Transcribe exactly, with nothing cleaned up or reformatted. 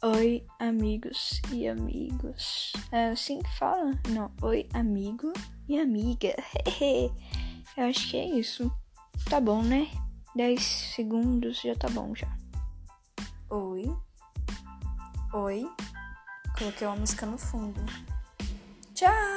Oi, amigos e amigos. É assim que fala? Não, oi, amigo e amiga. Eu acho que é isso. Tá bom, né? dez segundos já tá bom já. Oi. Oi. Coloquei uma música no fundo. Tchau!